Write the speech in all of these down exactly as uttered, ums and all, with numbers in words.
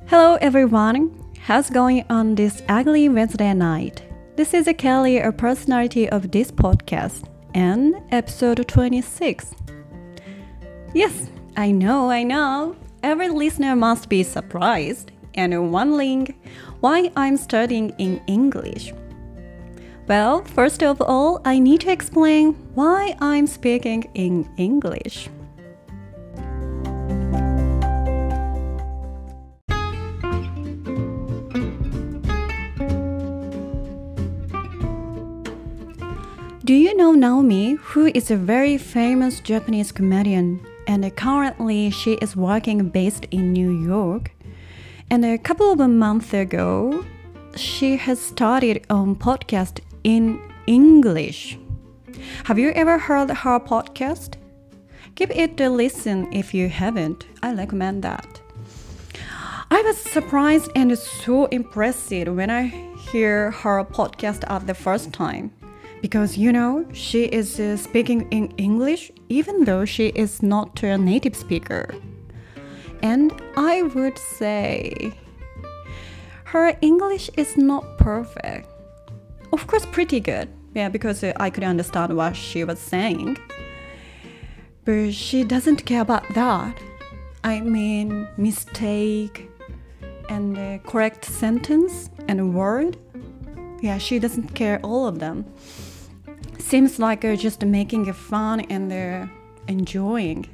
Hello everyone, how's going on this ugly Wednesday night? This is Kelly, a personality of this podcast, and episode twenty-six. Yes, I know, I know, every listener must be surprised and wondering why I'm studying in English. Well, first of all, I need to explain why I'm speaking in English. Do you know Naomi, who is a very famous Japanese comedian, and currently she is working based in New York? And a couple of months ago, she has started on podcast in English. Have you ever heard her podcast? Give it a listen if you haven't. I recommend that. I was surprised and so impressed when I hear her podcast at the first time. Because, you know, she is uh, speaking in English even though she is not a native speaker. And I would say her English is not perfect. Of course, pretty good. Yeah, because uh, I could understand what she was saying. But she doesn't care about that. I mean, mistake and uh, correct sentence and word. Yeah, she doesn't care all of them. Seems like uh, just making it fun and uh, enjoying.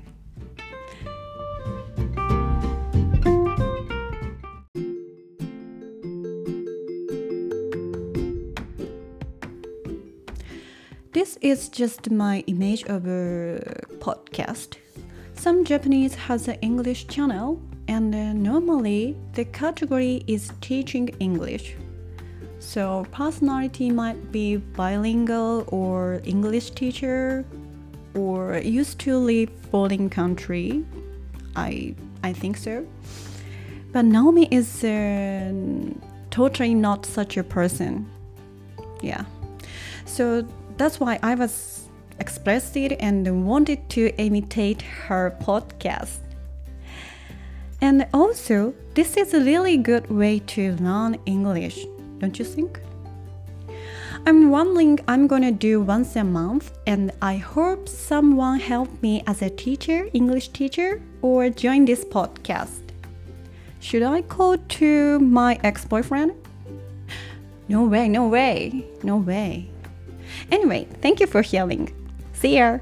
This is just my image of a podcast. Some Japanese has an English channel, and uh, normally the category is teaching English. So personality might be bilingual or English teacher or used to live foreign country. I I think so. But Naomi is uh, totally not such a person. Yeah. So that's why I was expressed it and wanted to imitate her podcast. And also, this is a really good way to learn English. Don't you think? I'm wondering I'm gonna do once a month, and I hope someone help me as a teacher, English teacher, or join this podcast. Should I call to my ex-boyfriend? No way, no way, no way. Anyway, thank you for hearing. See ya!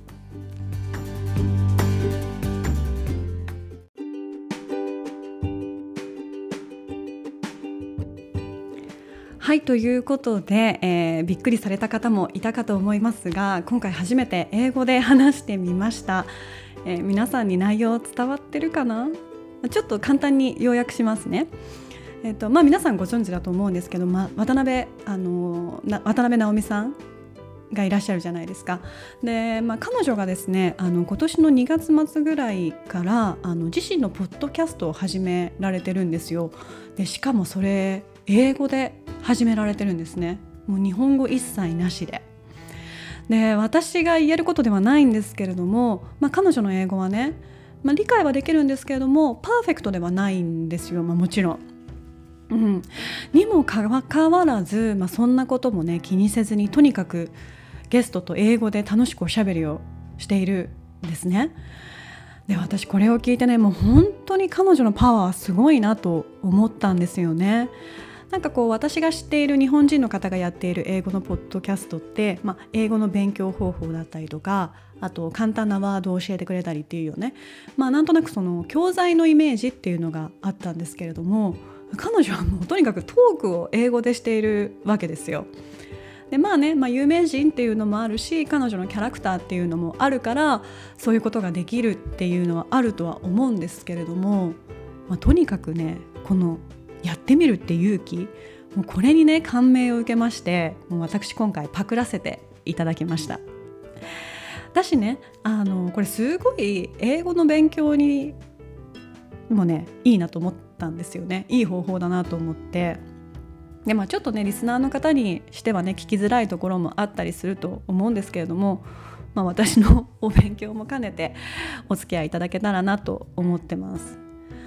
はい、ということで、えー、びっくりされた方もいたかと思いますが、今回初めて英語で話してみました。えー、皆さんに内容伝わってるかな？ちょっと簡単に要約しますね。えーとまあ、皆さんご存知だと思うんですけど、まあ、渡辺、あのー、な渡辺直美さんがいらっしゃるじゃないですか。で、まあ、彼女がですね、あの今年のにがつ末ぐらいからあの自身のポッドキャストを始められてるんですよ。で、しかもそれ英語で始められてるんですね。もう日本語一切なしで。で、私が言えることではないんですけれども、まあ、彼女の英語はね、まあ、理解はできるんですけれどもパーフェクトではないんですよ、まあ、もちろん。うん、にもかかわらず、まあ、そんなこともね気にせずにとにかくゲストと英語で楽しくおしゃべりをしているんですね。で、私これを聞いてね、もう本当に彼女のパワーはすごいなと思ったんですよね。なんかこう私が知っている日本人の方がやっている英語のポッドキャストって、まあ、英語の勉強方法だったりとか、あと簡単なワードを教えてくれたりっていうよね、まあ、なんとなくその教材のイメージっていうのがあったんですけれども、彼女はもうとにかくトークを英語でしているわけですよ。で、まあね、まあ、有名人っていうのもあるし、彼女のキャラクターっていうのもあるからそういうことができるっていうのはあるとは思うんですけれども、まあ、とにかくね、このやってみるって勇気、もうこれにね感銘を受けまして、もう私今回パクらせていただきました。だしね、あのこれすごい英語の勉強にもねいいなと思ったんですよね。いい方法だなと思って。で、まあ、ちょっとねリスナーの方にしてはね聞きづらいところもあったりすると思うんですけれども、まあ、私のお勉強も兼ねてお付き合いいただけたらなと思ってます。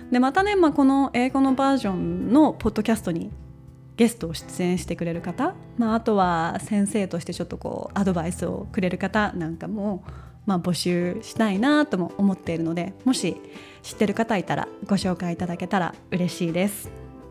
でまたね、まあ、この英語のバージョンのポッドキャストにゲストを出演してくれる方、まあ、あとは先生としてちょっとこうアドバイスをくれる方なんかも、まあ、募集したいなとも思っているので、もし知ってる方いたらご紹介いただけたら嬉しいです。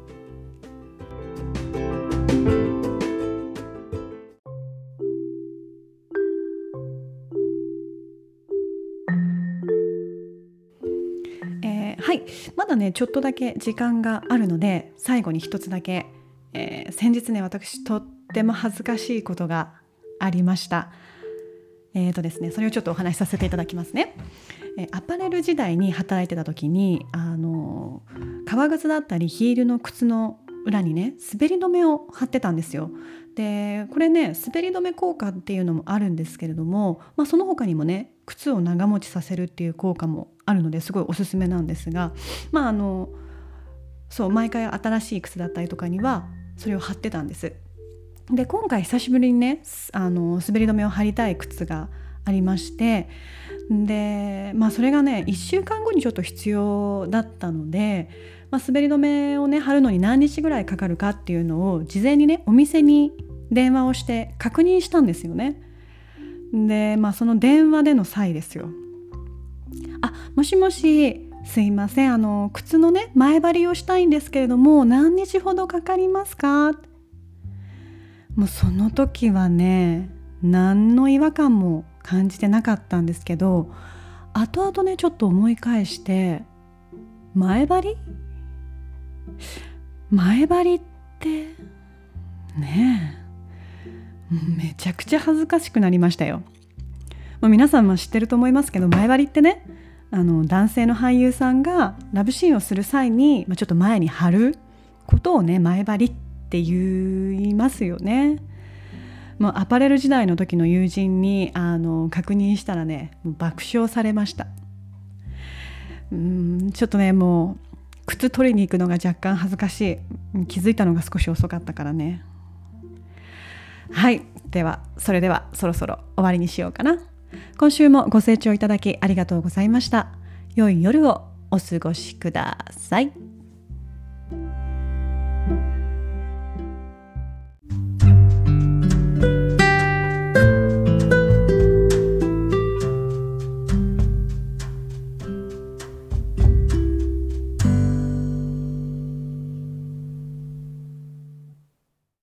はい、まだねちょっとだけ時間があるので、最後に一つだけ、えー、先日ね私とっても恥ずかしいことがありました。えーとですね、それをちょっとお話しさせていただきますね。えー、アパレル時代に働いてた時に、あの革靴だったりヒールの靴の裏にね滑り止めを貼ってたんですよ。でこれね滑り止め効果っていうのもあるんですけれども、まあ、その他にもね靴を長持ちさせるっていう効果もあるのですごいおすすめなんですが、まああのそう毎回新しい靴だったりとかにはそれを貼ってたんです。で今回久しぶりにねあの滑り止めを貼りたい靴がありまして、で、まあ、それがねいっしゅうかんごにちょっと必要だったので、まあ、滑り止めをね貼るのに何日ぐらいかかるかっていうのを事前にねお店に電話をして確認したんですよね。で、まあ、その電話での際ですよ。あ、もしもし、すいません、あの靴のね前張りをしたいんですけれども何日ほどかかりますか？もうその時はね何の違和感も感じてなかったんですけど、後々ねちょっと思い返して、前張り前張りってねえめちゃくちゃ恥ずかしくなりましたよ。まあ、皆さんも知ってると思いますけど、前張りってねあの男性の俳優さんがラブシーンをする際に、まあ、ちょっと前に貼ることをね前張りって言いますよね。もうアパレル時代の時の友人にあの確認したらねもう爆笑されました。うーんちょっとねもう靴取りに行くのが若干恥ずかしい。気づいたのが少し遅かったからね。はい、ではそれではそろそろ終わりにしようかな。今週もご清聴いただきありがとうございました。良い夜をお過ごしください。